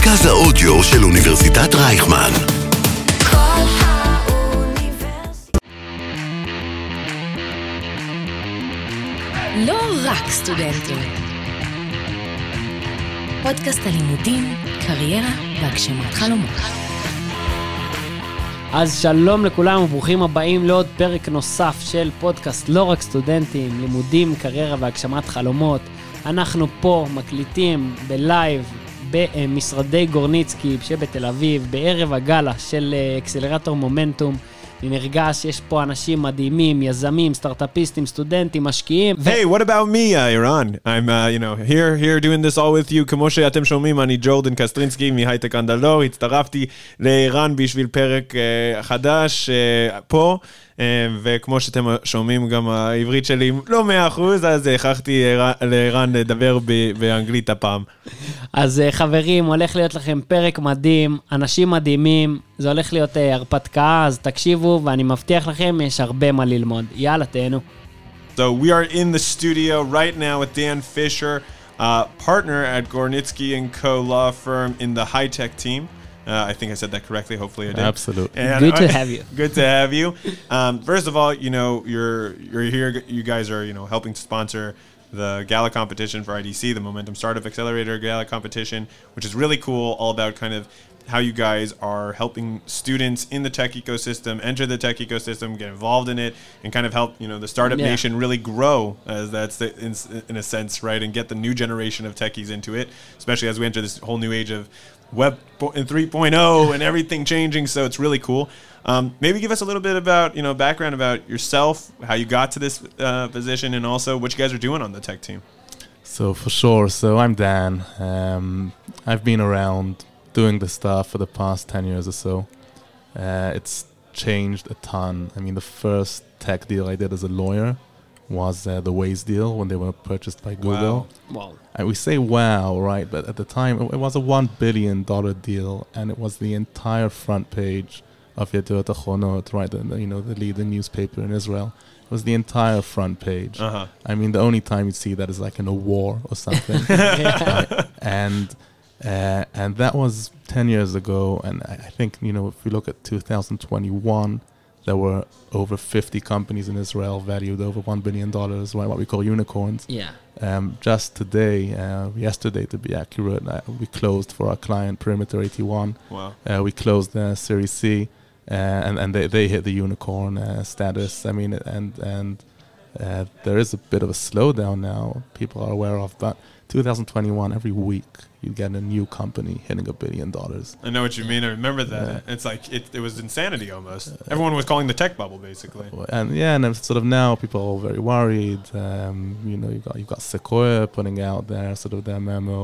מרכז האודיו של אוניברסיטת רייכמן. כל האוניברסיטה. לא רק סטודנטים. פודקאסט הלימודים, קריירה והגשמת חלומות. אז שלום לכולם וברוכים הבאים לעוד פרק נוסף של פודקאסט לא רק סטודנטים, לימודים, קריירה והגשמת חלומות. אנחנו פה מקליטים בלייב במשרדי גורניצקי שבתל אביב, בערב הגלה של אקסלרטור מומנטום. אני נרגש, יש פה אנשים מדהימים, יזמים, סטארט-אפיסטים, סטודנטים, משקיעים. Hey, what about me, Iran? I'm, here doing this all with you. כמו שאתם שומעים, אני ג'ורדן קסטרינסקי מהייטק אנדלור. הצטרפתי לאיראן בשביל פרק חדש פה, וכמו שאתם שומעים, גם העברית שלי לא 100%, אז הכרחתי לאיראן לדבר באנגלית הפעם. אז חברים, הולך להיות לכם פרק מדהים, אנשים מדהימים, זה הולך להיות הרפתקה, אז תקשיבו, ואני מבטיח לכם, יש הרבה מה ללמוד. יאללה, תהנו. So we are in the studio right now with Dan Fisher, partner at Gornitsky & Co. law firm in the high-tech team. I think I said that correctly. Hopefully I did. Absolutely. And Good to have you. Good to have you. First of all, you're here. You guys are, helping to sponsor the Gala competition for IDC, the Momentum Startup Accelerator Gala competition, which is really cool. All about kind of how you guys are helping students in the tech ecosystem enter the tech ecosystem, get involved in it, and kind of help the startup nation really grow, as that's in a sense, right, and get the new generation of techies into it, especially as we enter this whole new age of Web 3.0 and everything changing. So it's really cool. Maybe give us a little bit about background about yourself, how you got to this position, and also what you guys are doing on the tech team. So for sure. So I'm Dan. I've been around doing this stuff for the past 10 years or so. It's changed a ton. I mean, the first tech deal I did as a lawyer was the Waze deal when they were purchased by Google. Wow. And we say wow, right? But at the time, it was a $1 billion deal, and it was the entire front page of Yediot Achronot, right? The leading newspaper in Israel. It was the entire front page. Uh-huh. I mean, the only time you'd see that is like in a war or something. Right? And that was 10 years ago. And I think, if we look at 2021, there were over 50 companies in Israel valued over $1 billion, right? What we call unicorns. Yeah. Just today, yesterday to be accurate, we closed for our client Perimeter 81. Wow. We closed Series C, and they hit the unicorn status. I mean, and there is a bit of a slowdown now, people are aware of, but 2021, every week, you get a new company hitting $1 billion. I know what you mean. I remember that. It's like, it was insanity almost. Everyone was calling the tech bubble, basically. And sort of now people are very worried. You've got Sequoia putting out their sort of their memo,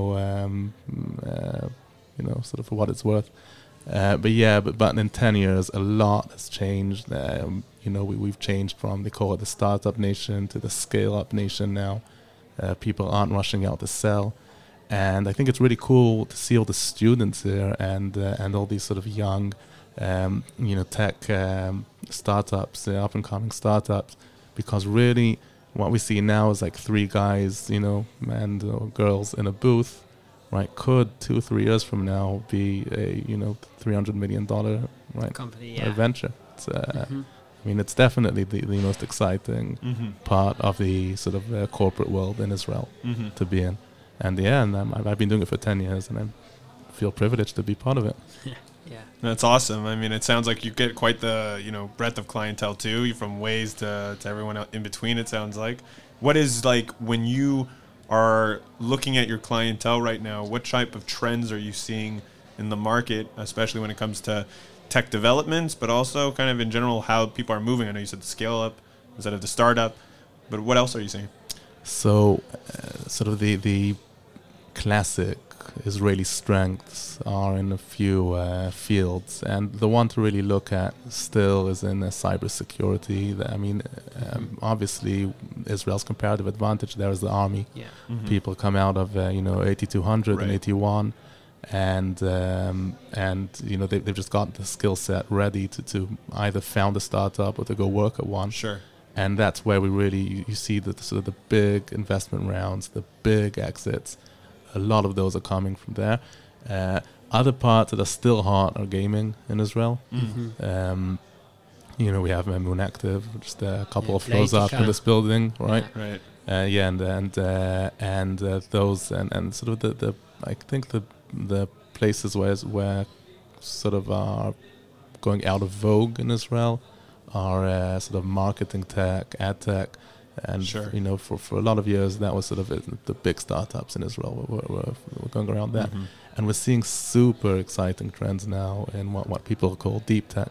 sort of for what it's worth. But in 10 years, a lot has changed. We've changed from, they call it the startup nation to the scale-up nation now. People aren't rushing out to sell. And I think it's really cool to see all the students here and all these sort of young, tech startups, up-and-coming startups, because really what we see now is like three guys, and girls in a booth, right? Could 2-3 years from now be a, $300 million, right? Company, venture. It's, I mean, it's definitely the most exciting part of the sort of corporate world in Israel to be in. And I've been doing it for 10 years, and I feel privileged to be part of it. Yeah. That's awesome. I mean, it sounds like you get quite the, breadth of clientele too, from Waze to everyone in between, it sounds like. What is, like, when you are looking at your clientele right now, what type of trends are you seeing in the market, especially when it comes to tech developments, but also kind of in general how people are moving? I know you said the scale up instead of the startup, but what else are you seeing? So, sort of the classic Israeli strengths are in a few fields, and the one to really look at still is in cybersecurity. I mean, obviously Israel's comparative advantage there is the army. Yeah. People come out of 8200 and 81, and they've just got the skill set ready to either found a startup or to go work at one. Sure. And that's where we really you see the sort of the big investment rounds, the big exits. A lot of those are coming from there. Other parts that are still hot are gaming in Israel. You know, we have Moon Active, just a couple of floors up in this building, right? Right. And those and sort of the I think the places where sort of are going out of vogue in Israel are sort of marketing tech, ad tech, and you know, for a lot of years that was sort of the big startups in Israel were going around that, and we're seeing super exciting trends now in what people call deep tech.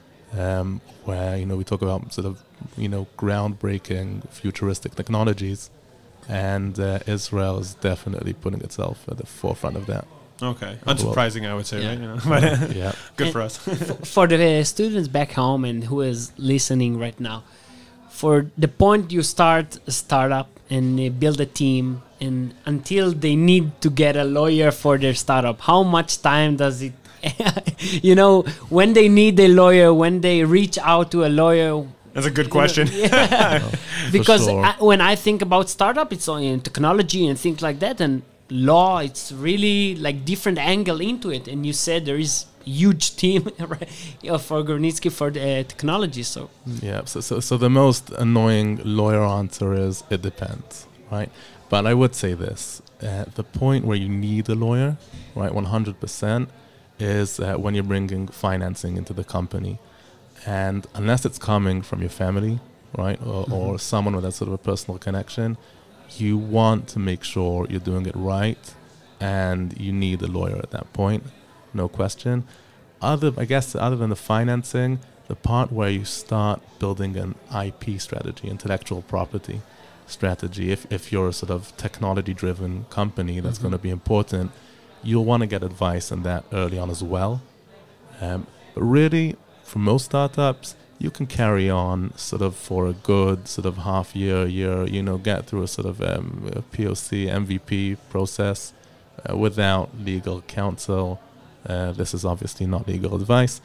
Where, you know, we talk about sort of, you know, groundbreaking futuristic technologies, and Israel is definitely putting itself at the forefront of that. Okay, unsurprising, I would say, right? You know, but good for us. For the students back home and who is listening right now, for the point you start a startup and build a team, and until they need to get a lawyer for their startup, how much time does it? You know, when they need a lawyer, when they reach out to a lawyer. That's a good question. Because sure. When I think about startup, it's only in technology and things like that, and law, it's really like different angle into it. And you said there is huge team for Gornitsky for the technology. So so the most annoying lawyer answer is it depends, right? But I would say this: the point where you need a lawyer, right, 100%. Is when you're bringing financing into the company, and unless it's coming from your family, right, or someone with that sort of a personal connection, you want to make sure you're doing it right, and you need a lawyer at that point, no question. Other than the financing, the part where you start building an IP strategy, intellectual property strategy, if you're a sort of technology-driven company, that's going to be important. You'll want to get advice on that early on as well. But really, for most startups, you can carry on sort of for a good sort of half year, you know, get through a sort of a POC, MVP process without legal counsel. This is obviously not legal advice.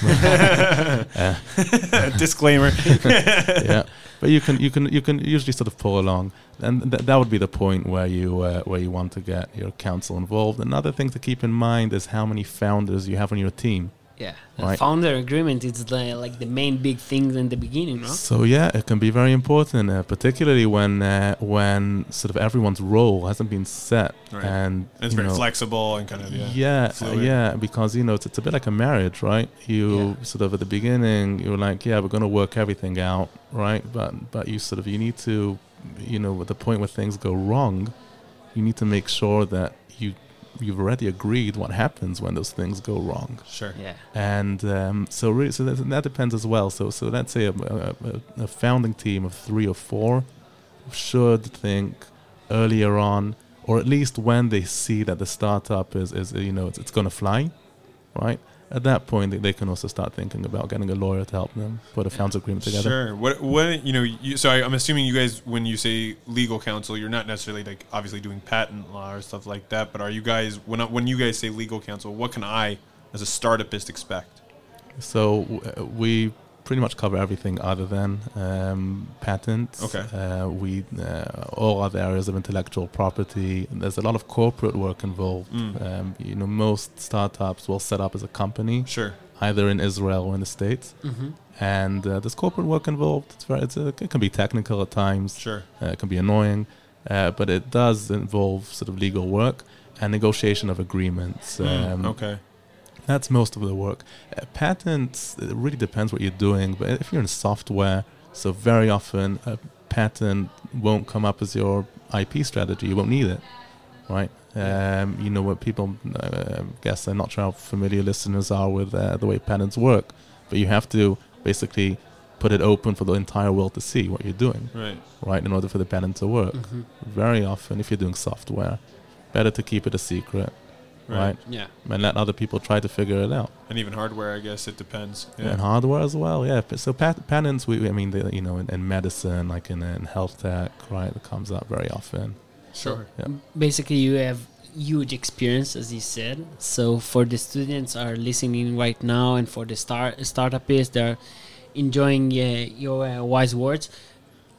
Disclaimer. Yeah, but you can usually sort of pull along, and that would be the point where you want to get your counsel involved. Another thing to keep in mind is how many founders you have on your team. Yeah, right. Founder agreement is like the main big thing in the beginning, no? So yeah, it can be very important, particularly when sort of everyone's role hasn't been set, right. And it's very flexible and kind of because you know it's a bit like a marriage, right? You sort of at the beginning you're like, we're going to work everything out, right? But you sort of you need to, you know, at the point where things go wrong, you need to make sure that you've already agreed what happens when those things go wrong. Sure. Yeah. And so that depends as well. So let's say a founding team of 3 or 4 should think earlier on, or at least when they see that the startup is you know, it's going to fly, right? At that point, they can also start thinking about getting a lawyer to help them put a founders agreement together. Sure. What you know? So I'm assuming you guys, when you say legal counsel, you're not necessarily like obviously doing patent law or stuff like that. But are you guys when you guys say legal counsel, what can I, as a startupist, expect? So we pretty much cover everything other than patents. Okay. We all other areas of intellectual property. There's a lot of corporate work involved. You know, most startups will set up as a company, sure, either in Israel or in the States, and there's corporate work involved. It can be technical at times. Sure. It can be annoying, but it does involve sort of legal work and negotiation of agreements. Okay. That's most of the work. Patents, it really depends what you're doing, but if you're in software, so very often a patent won't come up as your IP strategy. You won't need it, right? You know what people, guess I'm not sure how familiar listeners are with the way patents work, but you have to basically put it open for the entire world to see what you're doing, right? In order for the patent to work. Very often, if you're doing software, better to keep it a secret. Right. Yeah. And let other people try to figure it out. And even hardware, I guess it depends. Yeah. And hardware as well. Yeah. So patents, I mean, you know, in medicine, like in health tech, right, it comes up very often. Sure. Yeah. Basically, you have huge experience, as you said. So for the students are listening right now, and for the startupists, they're enjoying your wise words.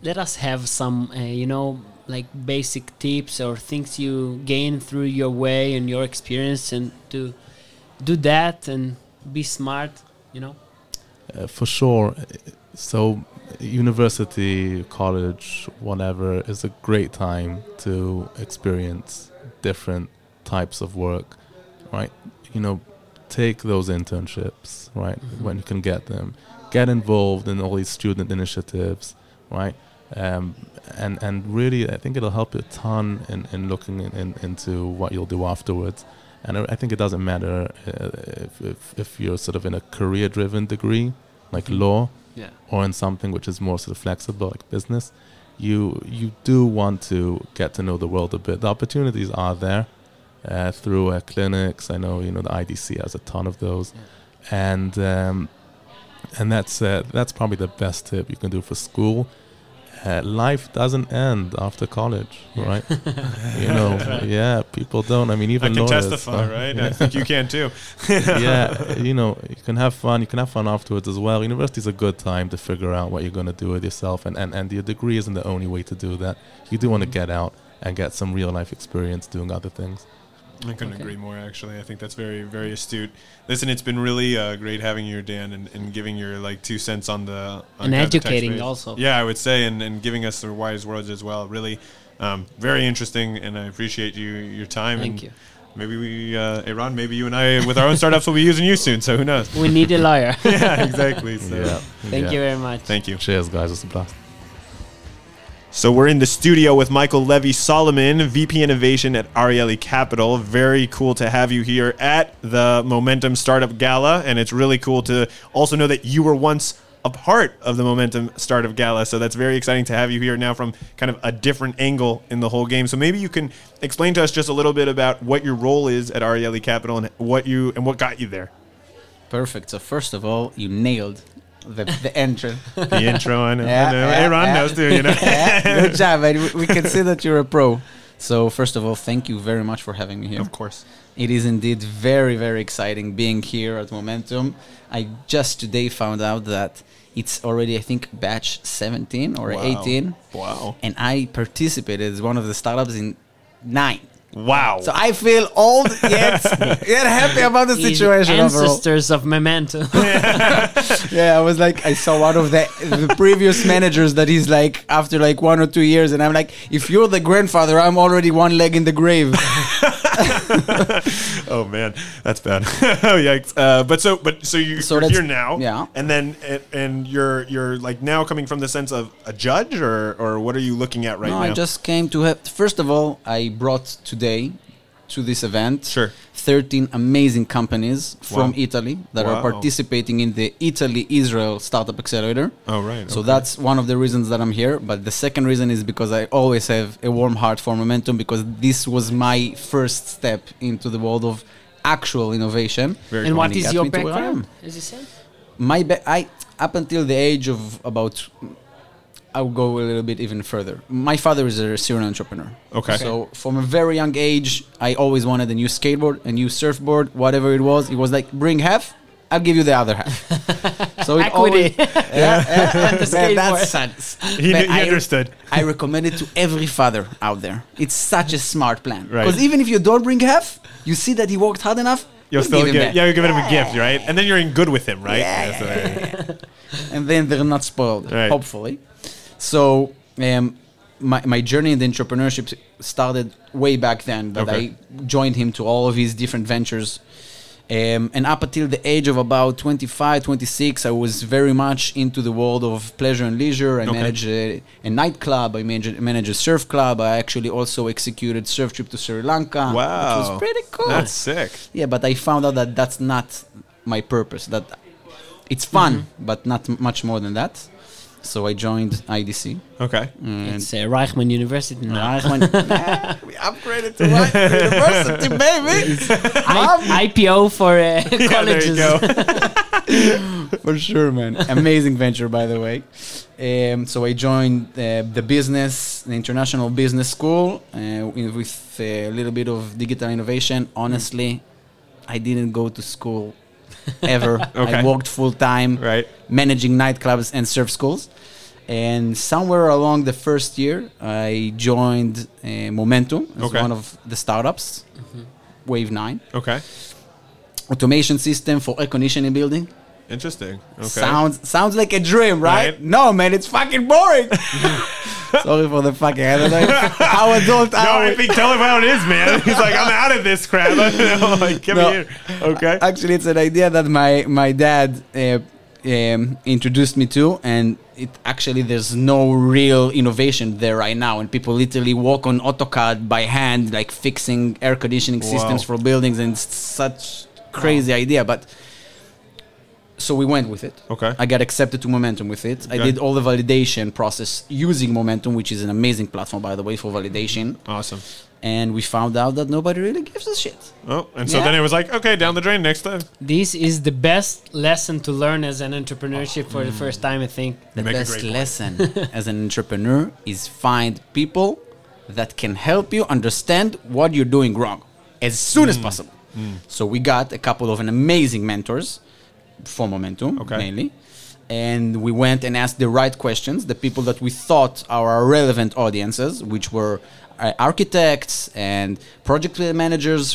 let us have some, like basic tips or things you gain through your way and your experience, and to do that and be smart, For sure. So university, college, whatever, is a great time to experience different types of work, right? Take those internships, right? When you can get them. Get involved in all these student initiatives, right? And really, I think it'll help you a ton in looking into what you'll do afterwards. And I think it doesn't matter if you're sort of in a career-driven degree, like law, or in something which is more sort of flexible, like business. You do want to get to know the world a bit. The opportunities are there through clinics. I know the IDC has a ton of those, and that's probably the best tip you can do for school. Life doesn't end after college, right? People don't. I mean, even I can lawyers, testify, right? I think you can too. You can have fun. You can have fun afterwards as well. University is a good time to figure out what you're going to do with yourself, and your degree isn't the only way to do that. You do want to get out and get some real life experience doing other things. I couldn't agree more, actually. I think that's very, very astute. Listen, it's been really great having you, Dan, and giving your 2 cents on the... and educating also. Yeah, I would say, and giving us the wise words as well. Really very interesting, and I appreciate your time. Thank you. Maybe Eran, maybe you and I, with our own startups, will be using you soon, so who knows? We need a lawyer. Yeah, exactly. So. Thank you very much. Thank you. Cheers, guys. It's a blast. So we're in the studio with Michael Levy Solomon, VP Innovation at Ariely Capital. Very cool to have you here at the Momentum Startup Gala, and it's really cool to also know that you were once a part of the Momentum Startup Gala, so that's very exciting to have you here now from kind of a different angle in the whole game. So maybe you can explain to us just a little bit about what your role is at Ariely Capital and what got you there. Perfect. So first of all, you nailed the intro. The intro, I know. Eran knows too, Good job, man. We can see that you're a pro. So first of all, thank you very much for having me here. Of course. It is indeed very, very exciting being here at Momentum. I just today found out that it's already, I think, batch 17 or 18. Wow. And I participated as one of the startups in 9. Wow. So I feel old yet happy about the situation overall. Ancestors of Memento. Yeah, I was like, I saw one of the previous managers that he's like, after like 1 or 2 years, and I'm like, if you're the grandfather, I'm already one leg in the grave. Oh man, that's bad. Oh yikes! So you're here now, and then you're like now coming from the sense of a judge, or what are you looking at right now? I just came to have. First of all, I brought today to this event 13 amazing companies from Italy that are participating in the Italy-Israel Startup Accelerator. Oh right. So that's one of the reasons that I'm here. But the second reason is because I always have a warm heart for Momentum, because this was my first step into the world of actual innovation. And what is your background, as you said? Up until the age of about, I'll go a little bit even further. My father is a serial entrepreneur. Okay. So from a very young age, I always wanted a new skateboard, a new surfboard, whatever it was. He was like, bring half, I'll give you the other half. So it equity. He understood. I recommend it to every father out there. It's such a smart plan. Right. Because even if you don't bring half, you see that he worked hard enough, you'll still give him a gift, right? And then you're in good with him, right? And then they're not spoiled, hopefully. So my journey in the entrepreneurship started way back then, but I joined him to all of his different ventures. And up until the age of about 25, 26, I was very much into the world of pleasure and leisure. I managed a nightclub. I managed a surf club. I actually also executed surf trip to Sri Lanka. Wow. Which was pretty cool. That's sick. Yeah, but I found out that that's not my purpose. That it's fun, but not much more than that. So I joined IDC. Okay. It's Reichman University now. Reichman. We upgraded to Reichman University, baby. IPO for colleges. There you go. For sure, man. Amazing venture, by the way. So I joined the International Business School with a little bit of digital innovation. Honestly, I didn't go to school ever. I worked full time, managing nightclubs and surf schools. And somewhere along the first year, I joined Momentum as Okay. one of the startups, Wave 9. Okay. Automation system for air conditioning building. Interesting. Okay. Sounds like a dream, right? Right. No, man, it's fucking boring. Sorry for the fucking, I don't know how adult No, I think tell him how it is, man. He's like, I'm out of this crap. Like, give No. me here. Okay. Actually, it's an idea that my dad introduced me to, and it actually there's no real innovation there right now, and people literally walk on AutoCAD by hand, like fixing air conditioning systems Wow. for buildings, and it's such crazy idea. But so we went with it. Okay. I got accepted to Momentum with it. I Okay. did all the validation process using Momentum, which is an amazing platform, by the way, for validation. Awesome. And we found out that nobody really gives a shit. Oh, and so Yeah. then it was like, okay, down the drain next time. This is the best lesson to learn as an entrepreneurship for the first time, I think. The make a best great point. lesson as an entrepreneur is find people that can help you understand what you're doing wrong as soon as possible. So we got a couple of an amazing mentors for Momentum, Okay. mainly. And we went and asked the right questions, the people that we thought are our relevant audiences, which were architects and project managers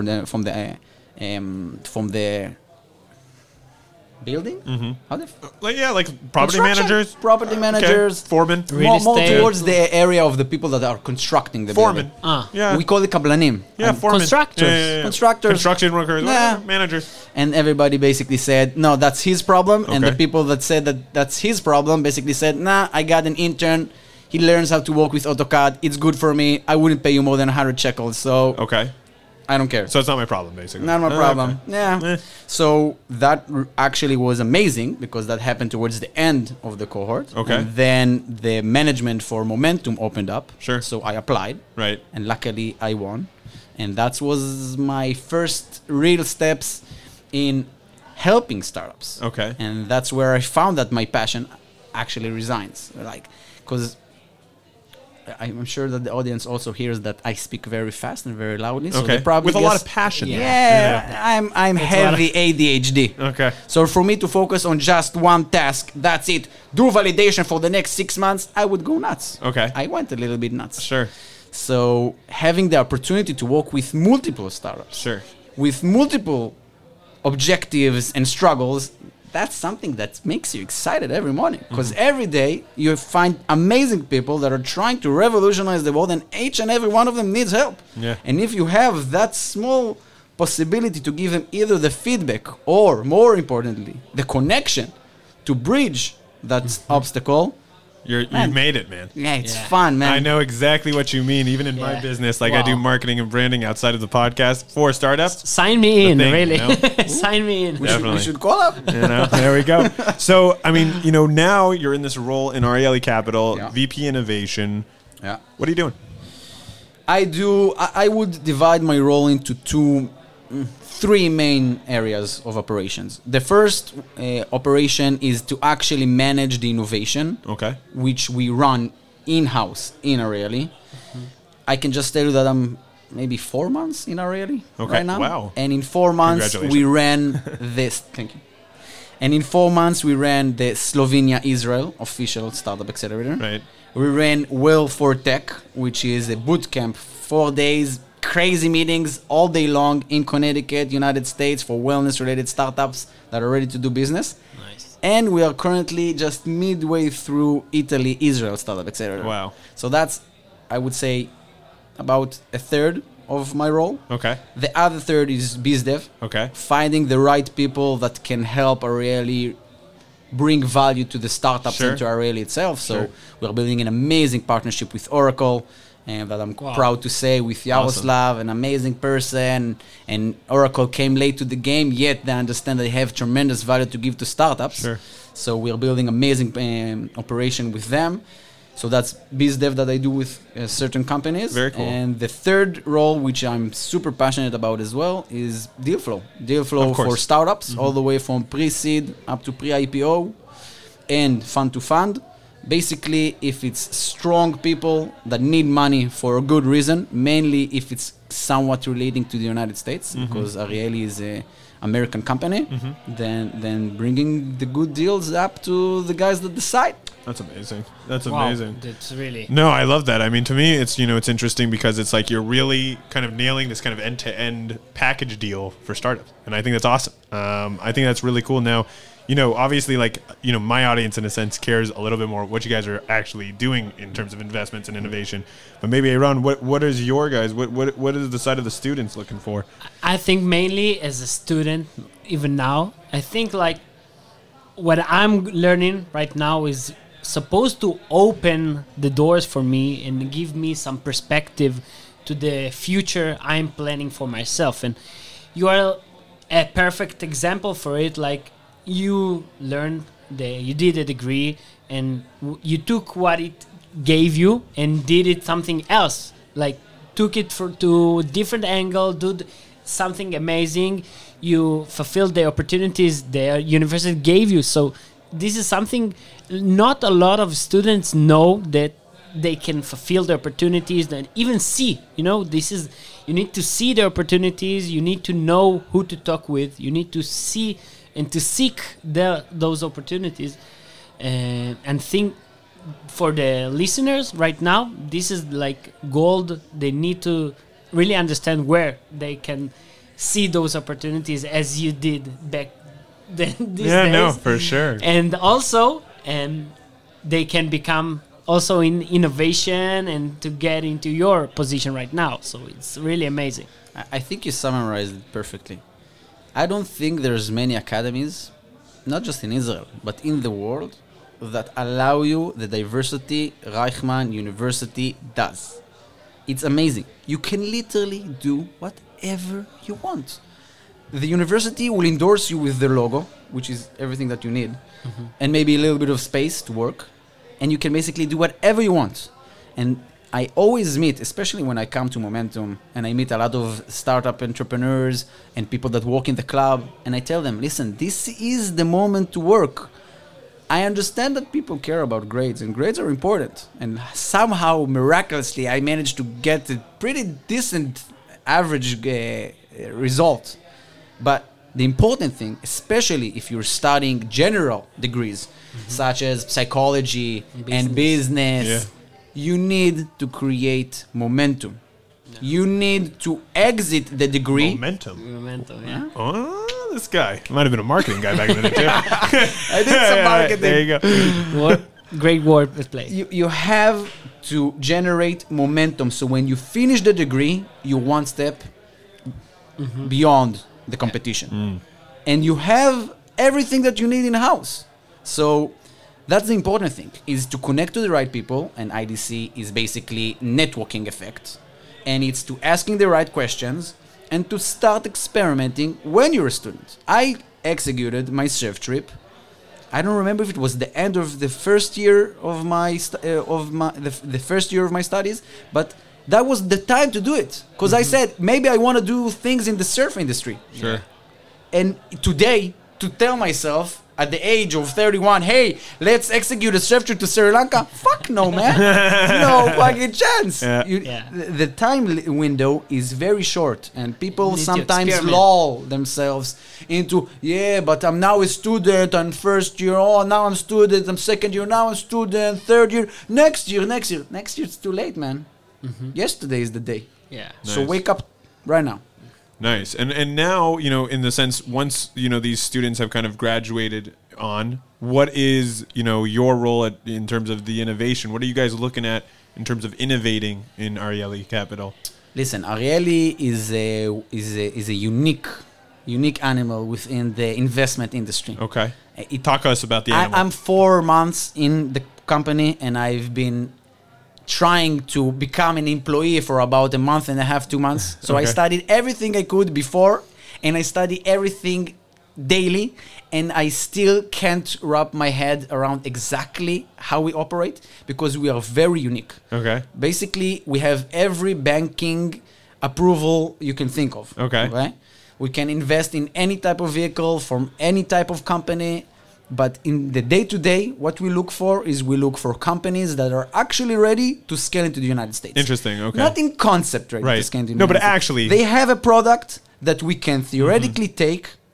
from the building. How the Like, yeah, like property Construction. managers. Property managers. Okay. Foreman. Real more estate. towards the area of the people that are constructing the Foreman. building. Yeah. We call it kablanim. Yeah, foreman. Constructors. Constructors. Construction workers. Yeah. Managers. And everybody basically said, no, that's his problem. And the Okay. people that said that that's his problem basically said, nah, I got an intern. He learns how to work with AutoCAD. It's good for me. I wouldn't pay you more than 100 shekels. So Okay. I don't care. So it's not my problem, basically. Not my Oh, problem. okay. Yeah. Eh. So that actually was amazing because that happened towards the end of the cohort. Okay. And then the management for Momentum opened up. Sure. So I applied. Right. And luckily I won. And that was my first real steps in helping startups. Okay. And that's where I found that my passion actually resides. Like, because I'm sure that the audience also hears that I speak very fast and very loudly. So Okay. they probably With a lot guess- of passion. Yeah, I'm heavy ADHD. Okay. So for me to focus on just one task, that's it. Do validation for the next 6 months, I would go nuts. Okay. I went a little bit nuts. Sure. So having the opportunity to work with multiple startups, Sure. with multiple objectives and struggles, that's something that makes you excited every morning. Because every day you find amazing people that are trying to revolutionize the world, and each and every one of them needs help. Yeah. And if you have that small possibility to give them either the feedback or, more importantly, the connection to bridge that obstacle, You Man. made it, man. yeah, it's Yeah. fun, man. I know exactly what you mean. Even in my Yeah. business, like I do Wow. marketing and branding outside of the podcast for startups. Sign me in, thing, really. you know? Sign me in. we Definitely. should call up. You know, there we go. So, I mean, you know, now you're in this role in Ariely Capital, Yeah. VP Innovation. Yeah. What are you doing? I would divide my role into three main areas of operations. The first operation is to actually manage the innovation, Okay. which we run in-house in Ariely. I can just tell you that I'm maybe 4 months in Ariely Okay, right now. wow. And in 4 months, we ran this. Thank you. And in 4 months, we ran the Slovenia-Israel official startup accelerator. Right. We ran Well for Tech, which is a boot camp, 4 days, crazy meetings all day long in Connecticut, United States, for wellness-related startups that are ready to do business. Nice. And we are currently just midway through Italy-Israel startup accelerator. Wow. So that's, I would say, about a third of my role. Okay. The other third is BizDev, Okay. finding the right people that can help Ariely bring value to the startups Sure. and to Ariely itself. So Sure. we're building an amazing partnership with Oracle, and that I'm Wow. proud to say, with Yaroslav, an amazing person. And Oracle came late to the game, yet they understand they have tremendous value to give to startups. Sure. So we're building amazing operation with them. So that's BizDev that I do with certain companies. Very cool. And the third role, which I'm super passionate about as well, is deal flow. Deal flow Of course. for startups, all the way from pre-seed up to pre-IPO and fund to fund. Basically, if it's strong people that need money for a good reason, mainly if it's somewhat relating to the United States, because Ariely is American company than bringing the good deals up to the guys that decide. That's amazing. That's Wow, amazing. that's really... No, I love that. I mean, to me, it's, it's interesting because it's like you're really kind of nailing this kind of end-to-end package deal for startups. And I think that's awesome. I think that's really cool. Now, obviously, like, my audience, in a sense, cares a little bit more what you guys are actually doing in terms of investments and innovation. But maybe, Aaron, what is your guys, what is the side of the students looking for? I think mainly as a student, even now, I think like what I'm learning right now is supposed to open the doors for me and give me some perspective to the future I'm planning for myself. And you are a perfect example for it. Like, you learned, you did a degree, and you took what it gave you and did it something else. Like, took it to different angle, something amazing. You fulfilled the opportunities the university gave you. So this is something not a lot of students know, that they can fulfill the opportunities and even see. This is, you need to see the opportunities. You need to know who to talk with. You need to see and to seek those opportunities. And think for the listeners right now, this is like gold. They need to really understand where they can see those opportunities as you did back then. These days. No, for sure. And also, they can become also in innovation and to get into your position right now. So it's really amazing. I think you summarized it perfectly. I don't think there's many academies, not just in Israel, but in the world, that allow you the diversity Reichman University does. It's amazing. You can literally do whatever you want. The university will endorse you with their logo, which is everything that you need, and maybe a little bit of space to work, and you can basically do whatever you want. And I always meet, especially when I come to Momentum, and I meet a lot of startup entrepreneurs and people that work in the club, and I tell them, listen, this is the moment to work. I understand that people care about grades, and grades are important. And somehow, miraculously, I managed to get a pretty decent average result. But the important thing, especially if you're studying general degrees, such as psychology and business, you need to create momentum. Yeah. You need to exit the degree. Momentum, yeah. Oh, this guy. Might have been a marketing guy back in the day, too. I did some marketing. There you go. What great word play. You have to generate momentum. So when you finish the degree, you're one step beyond the competition. And you have everything that you need in-house. So that's the important thing, is to connect to the right people, and IDC is basically networking effect. And it's to asking the right questions and to start experimenting when you're a student. I executed my surf trip. I don't remember if it was the end of the first year of the first year of my studies, but that was the time to do it. Because I said, maybe I want to do things in the surf industry. Sure. And today, to tell myself at the age of 31, hey, let's execute a surf trip to Sri Lanka. Fuck no, man. No fucking chance. Yeah. The time window is very short, and people sometimes lull themselves into, but I'm now a student, I'm first year, now I'm student, I'm second year, now I'm student, third year, next year, it's too late, man. Yesterday is the day. Yeah. So Nice. wake up right now. Nice. And now, in the sense, once, these students have kind of graduated on, what is, your role in terms of the innovation? What are you guys looking at in terms of innovating in Arieli Capital? Listen, Arieli is a unique animal within the investment industry. Okay. Talk to us about the animal. I'm 4 months in the company, and I've been trying to become an employee for about a month and a half, 2 months. So I studied everything I could before, and I study everything daily, and I still can't wrap my head around exactly how we operate, because we are very unique. Okay. Basically, we have every banking approval you can think of. Okay. We can invest in any type of vehicle from any type of company. But in the day-to-day, what we look for is we look for companies that are actually ready to scale into the United States. Interesting, okay. Not in concept ready to scale into the United States. Actually... They have a product that we can theoretically take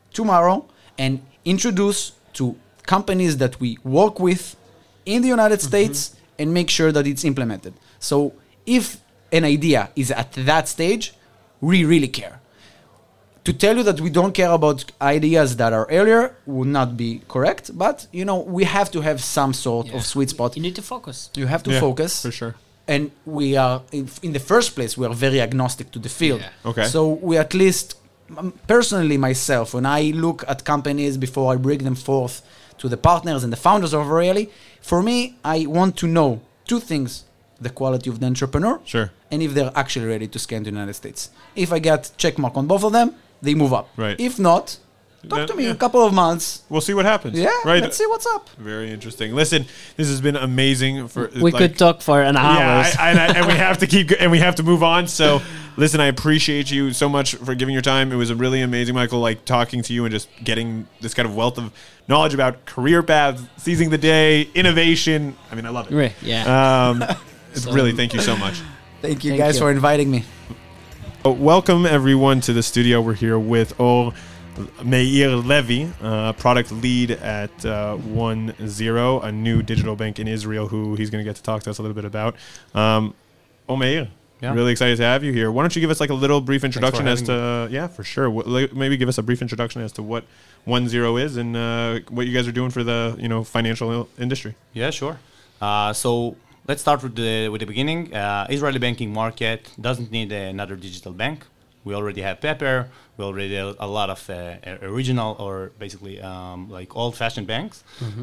tomorrow and introduce to companies that we work with in the United States and make sure that it's implemented. So if an idea is at that stage, we really care. To tell you that we don't care about ideas that are earlier would not be correct, but we have to have some sort of sweet spot. You need to focus. You have to focus. for sure. And we are, in the first place, we are very agnostic to the field. Yeah. Okay. So we at least, personally myself, when I look at companies before I bring them forth to the partners and the founders of O'Reilly, for me, I want to know two things: the quality of the entrepreneur, Sure. and if they're actually ready to scale to the United States. If I get check mark on both of them, they move up. Right. If not, talk Then, to me in yeah. a couple of months. We'll see what happens. Yeah, Right. let's see what's up. Very interesting. Listen, this has been amazing. We could talk for an hour. Yeah, and we have to keep and we have to move on. So, listen, I appreciate you so much for giving your time. It was really amazing, Michael, like talking to you and just getting this kind of wealth of knowledge about career paths, seizing the day, innovation. I mean, I love it. Right, yeah. Really, thank you so much. Thank you Thank guys you. for inviting me. Welcome everyone to the studio. We're here with Or Meir Levy, product lead at 10, a new digital bank in Israel, who he's going to get to talk to us a little bit about. Meir, Yeah. really excited to have you here. Why don't you give us like a little brief introduction as having to, yeah, for sure. Maybe give us a brief introduction as to what 10 is and what you guys are doing for the financial industry. Yeah, sure. So let's start with the beginning. Israeli banking market doesn't need another digital bank. We already have Pepper. We already have a lot of original or basically like old-fashioned banks.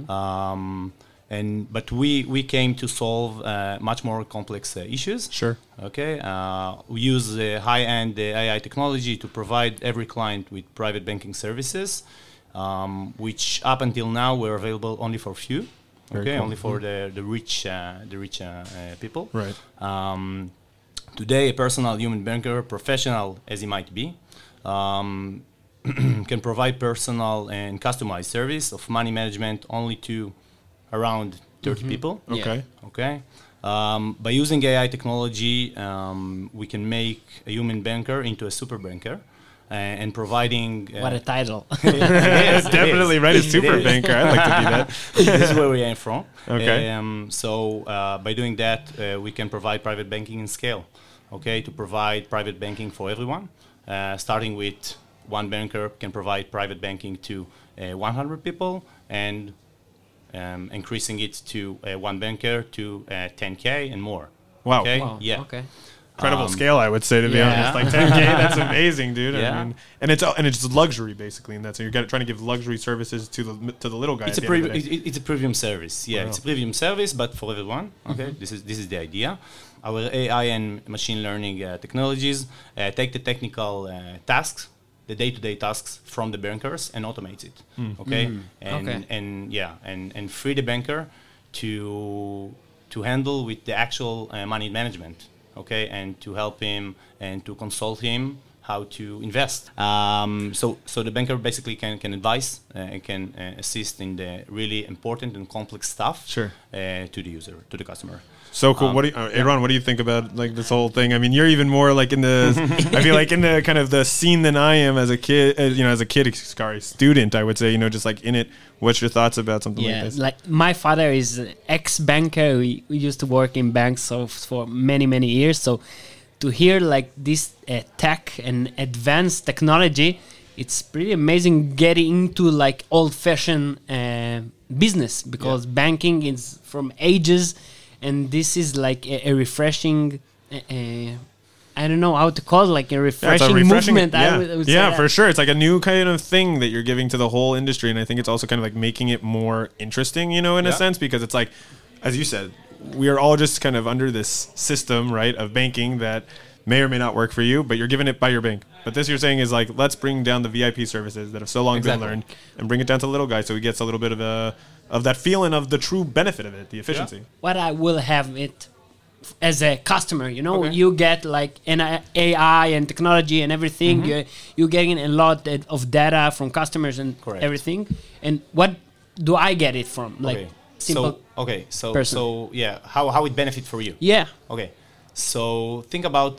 But we came to solve much more complex issues. Sure. Okay. We use high-end AI technology to provide every client with private banking services, which up until now were available only for few. Very cool. Only for the rich people. Right. Today, a personal human banker, professional as he might be, can provide personal and customized service of money management only to around 30 people. Okay. Okay. By using AI technology, we can make a human banker into a super banker. And providing What a title. Yes, it Definitely is. right. A It super is. banker. I'd like to be that. This is where we aim from. Okay. So by doing that, we can provide private banking in scale. Okay, to provide private banking for everyone, starting with one banker can provide private banking to 100 people, and increasing it to one banker to 10K and more. Wow. Okay. Wow, Yeah. Okay. Incredible scale, I would say, to be yeah. honest. Like 10K, that's amazing, dude. I Yeah. mean, and it's luxury basically in that. So you're trying to give luxury services to the little guy. It's at a the end of the day. it's a premium service. Yeah, Wow. it's a premium service, but for everyone. Okay, this is the idea. Our AI and machine learning technologies take the technical tasks, the day-to-day tasks from the bankers, and automates it. Okay, Okay. and free the banker to handle with the actual money management. Okay, and to help him and to consult him how to invest. So the banker basically can advise and can assist in the really important and complex stuff Sure. To the user, to the customer. So cool. What do you, Aaron, what do you think about like this whole thing? I mean, you're even more like in the, I feel like in the kind of the scene than I am as a kid, student, I would say, just like in it. What's your thoughts about something like Yeah, this? like my father is an ex-banker. We used to work in banks for many years. So to hear like this tech and advanced technology, it's pretty amazing getting into like old-fashioned business because banking is from ages, and this is like a refreshing. I don't know how to call it, like a refreshing, movement. Yeah, I would say that. for sure. It's like a new kind of thing that you're giving to the whole industry, and I think it's also kind of like making it more interesting, in a sense, because it's like, as you said, we are all just kind of under this system, right, of banking that may or may not work for you, but you're given it by your bank. But this you're saying is like, let's bring down the VIP services that have so long been learned and bring it down to the little guy so he gets a little bit of that feeling of the true benefit of it, the efficiency. What I will have it as a customer, Okay. you get like an AI and technology and everything. You're getting a lot of data from customers and Correct. everything. And what do I get it from? Like simple. So person. yeah, how it benefit for you? Yeah. Okay, so think about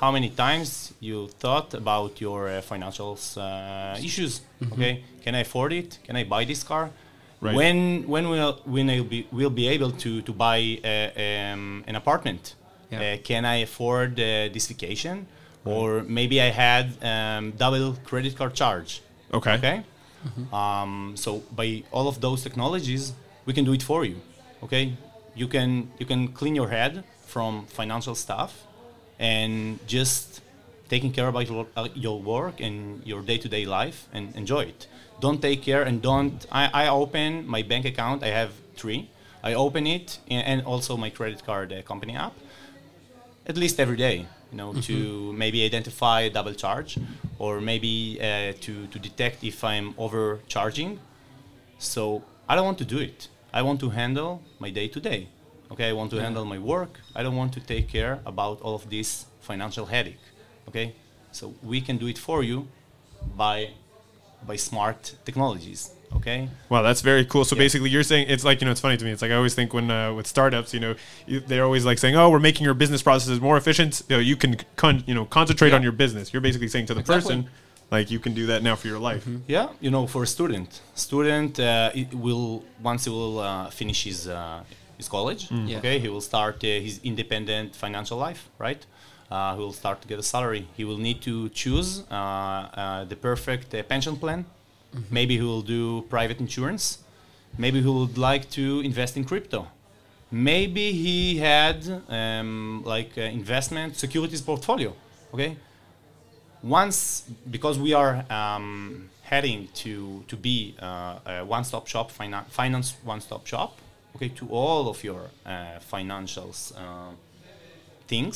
how many times you thought about your financial issues. Okay, can I afford it? Can I buy this car? Right. When we'll be able to buy an apartment? Yeah. Can I afford this vacation? Or maybe I had double credit card charge. Okay. Okay. So by all of those technologies, we can do it for you. Okay. You can clean your head from financial stuff and just taking care about your work and your day-to-day life and enjoy it. Don't take care and don't. I open my bank account. I have 3. I open it and also my credit card company app at least every day. To maybe identify a double charge, or maybe to detect if I'm overcharging. So I don't want to do it. I want to handle my day-to-day. Okay, I want to handle my work. I don't want to take care about all of this financial headache. Okay, so we can do it for you by smart technologies. Okay. Wow, that's very cool. So basically, you're saying it's like it's funny to me. It's like I always think when with startups, they're always like saying, "Oh, we're making your business processes more efficient. You can concentrate on your business." You're basically saying to the person, like you can do that now for your life. Yeah, for a student once he will finish his college. Okay, he will start his independent financial life, right? He will start to get a salary. He will need to choose the perfect pension plan. Maybe he will do private insurance. Maybe he would like to invest in crypto. Maybe he had investment securities portfolio. Okay. Because we are heading to be a one-stop shop, finance one-stop shop. Okay, to all of your financials things.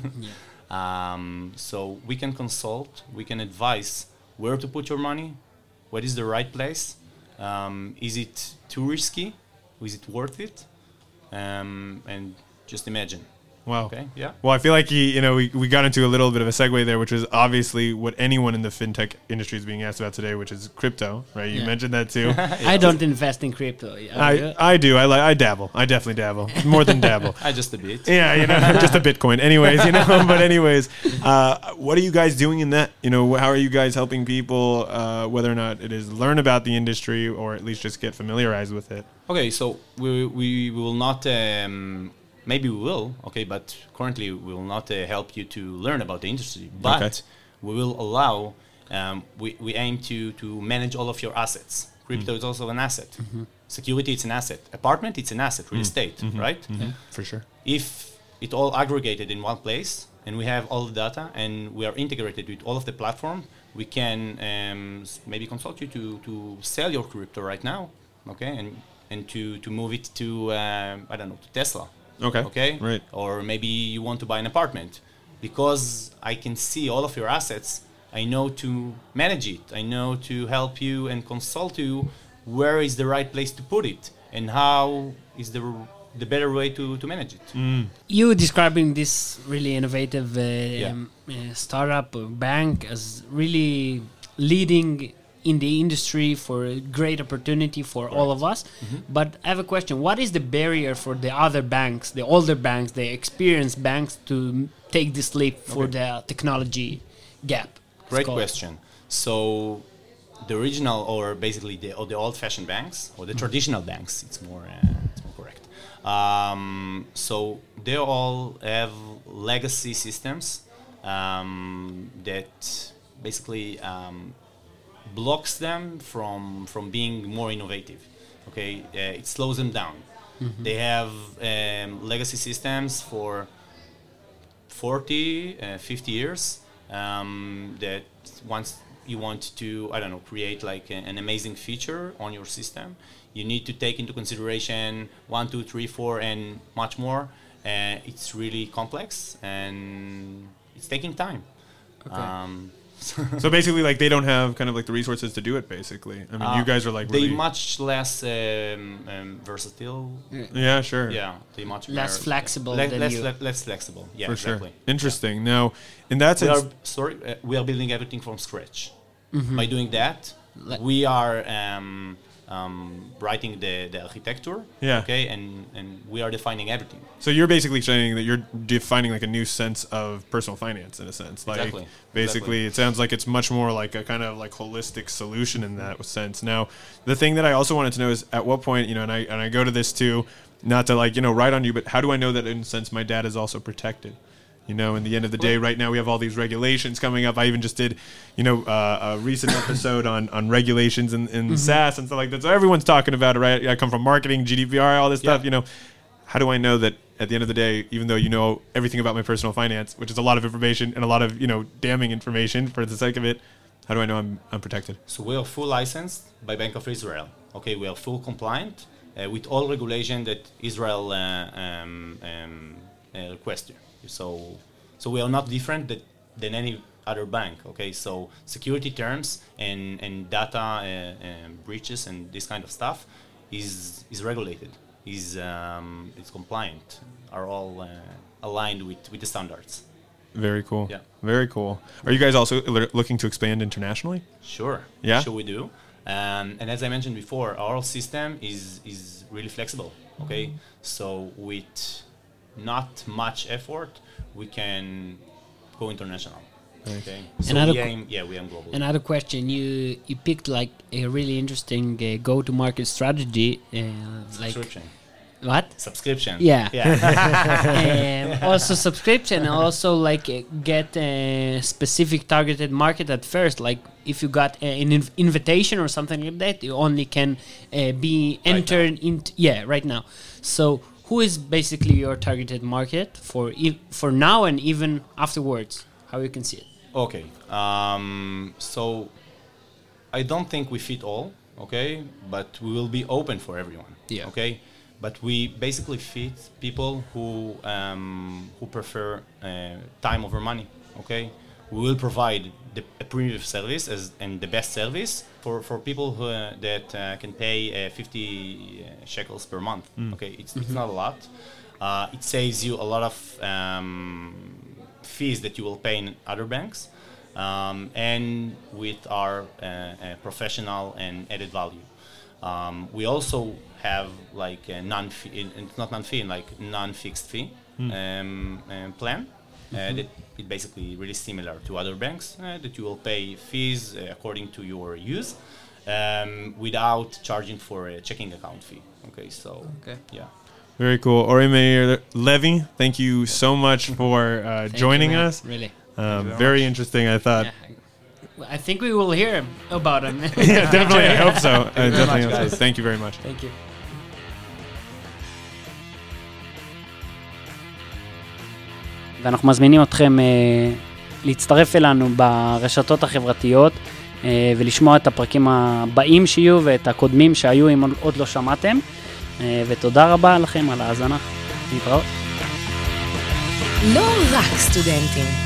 So we can consult. We can advise where to put your money. What is the right place? Is it too risky? Is it worth it? And just imagine. Wow. Okay. Yeah. Well, I feel like we got into a little bit of a segue there, which is obviously what anyone in the fintech industry is being asked about today, which is crypto, right? You mentioned that too. I don't invest in crypto. I do. I dabble. I definitely dabble. More than dabble. I just a bit. Yeah, just a Bitcoin. Anyways, But anyways, what are you guys doing in that? How are you guys helping people, whether or not it is learn about the industry or at least just get familiarized with it? Okay, so we will not. Maybe we will, okay, but currently we will not help you to learn about the industry. But we will allow, we aim to manage all of your assets. Crypto is also an asset. Security, it's an asset. Apartment, it's an asset. Real estate, right? For sure. If it all aggregated in one place and we have all the data and we are integrated with all of the platform, we can maybe consult you to sell your crypto right now, okay, and to move it to, to Tesla. Okay. Right. Or maybe you want to buy an apartment. Because I can see all of your assets, I know to manage it. I know to help you and consult you where is the right place to put it and how is the better way to manage it. You describing this really innovative startup or bank as really leading in the industry for a great opportunity for all of us. But I have a question. What is the barrier for the other banks, the older banks, the experienced banks to take this leap for the technology gap? Great question. So the original or basically the old-fashioned banks or the traditional banks, it's more correct. So they all have legacy systems that basically blocks them from being more innovative. Okay, it slows them down. They have legacy systems for 40, 50 years that once you want to, create like an amazing feature on your system, you need to take into consideration 1, 2, 3, 4, and much more. It's really complex and it's taking time. Okay. So basically, like they don't have kind of like the resources to do it. Basically, I mean, you guys are like really they much less versatile. Yeah, sure. Yeah, they much less flexible than you. Less flexible. Yeah, for exactly. Sure. Interesting. Now, in that sense, we are building everything from scratch. By doing that, we are writing the architecture. Yeah. Okay, and we are defining everything. So you're basically saying that you're defining like a new sense of personal finance in a sense. Like Exactly. basically it sounds like it's much more like a kind of like holistic solution in that sense. Now, the thing that I also wanted to know is at what point, you know, and I go to this too, not to like, you know, write on you, but how do I know that in a sense my data is also protected? You know, in the end of the day, right now we have all these regulations coming up. I even just did, you know, a recent episode on regulations in SaaS and stuff like that. So everyone's talking about it, right? I come from marketing, GDPR, all this stuff, you know. How do I know that at the end of the day, even though you know everything about my personal finance, which is a lot of information and a lot of, you know, damning information for the sake of it, how do I know I'm protected? So we are full licensed by Bank of Israel. Okay, we are full compliant with all regulation that Israel requested. So we are not different than any other bank. Okay, so security terms and data breaches and this kind of stuff is regulated, is compliant, are all aligned with the standards. Very cool. Yeah. Very cool. Are you guys also looking to expand internationally? Sure. Yeah? Sure we do. And as I mentioned before, our system is really flexible. Okay, so with not much effort, we can go international. Okay. So we aim global. Another question, you picked like a really interesting go-to-market strategy, like Subscription. what? Subscription. Yeah. Also subscription, also like get a specific targeted market at first. Like if you got an invitation or something like that, you only can be entered into right now. So who is basically your targeted market for now and even afterwards? How you can see it? Okay. So I don't think we fit all. Okay, but we will be open for everyone. Yeah. Okay. But we basically fit people who prefer time over money. Okay, we will provide a premium service and the best service for people who that can pay 50 shekels per month. Okay, it's not a lot. It saves you a lot of fees that you will pay in other banks, and with our professional and added value. We also have like a non-fixed fee plan that is basically really similar to other banks that you will pay fees according to your use without charging for a checking account fee. Okay, so yeah. Very cool. Ori Meir Levy, thank you so much for joining us. Really. Very interesting, I thought. Yeah. I think we will hear about him. Yeah, definitely. I hope so. Definitely hope so. Thank you very much. Thank you. ואנחנו מזמינים אתכם להצטרף אלינו ברשתות החברתיות ולשמוע את הפרקים הבאים שיהיו ואת הקודמים שהיו אם עוד לא שמעתם. ותודה רבה לכם על ההאזנה. להתראות. לא רק סטודנטים.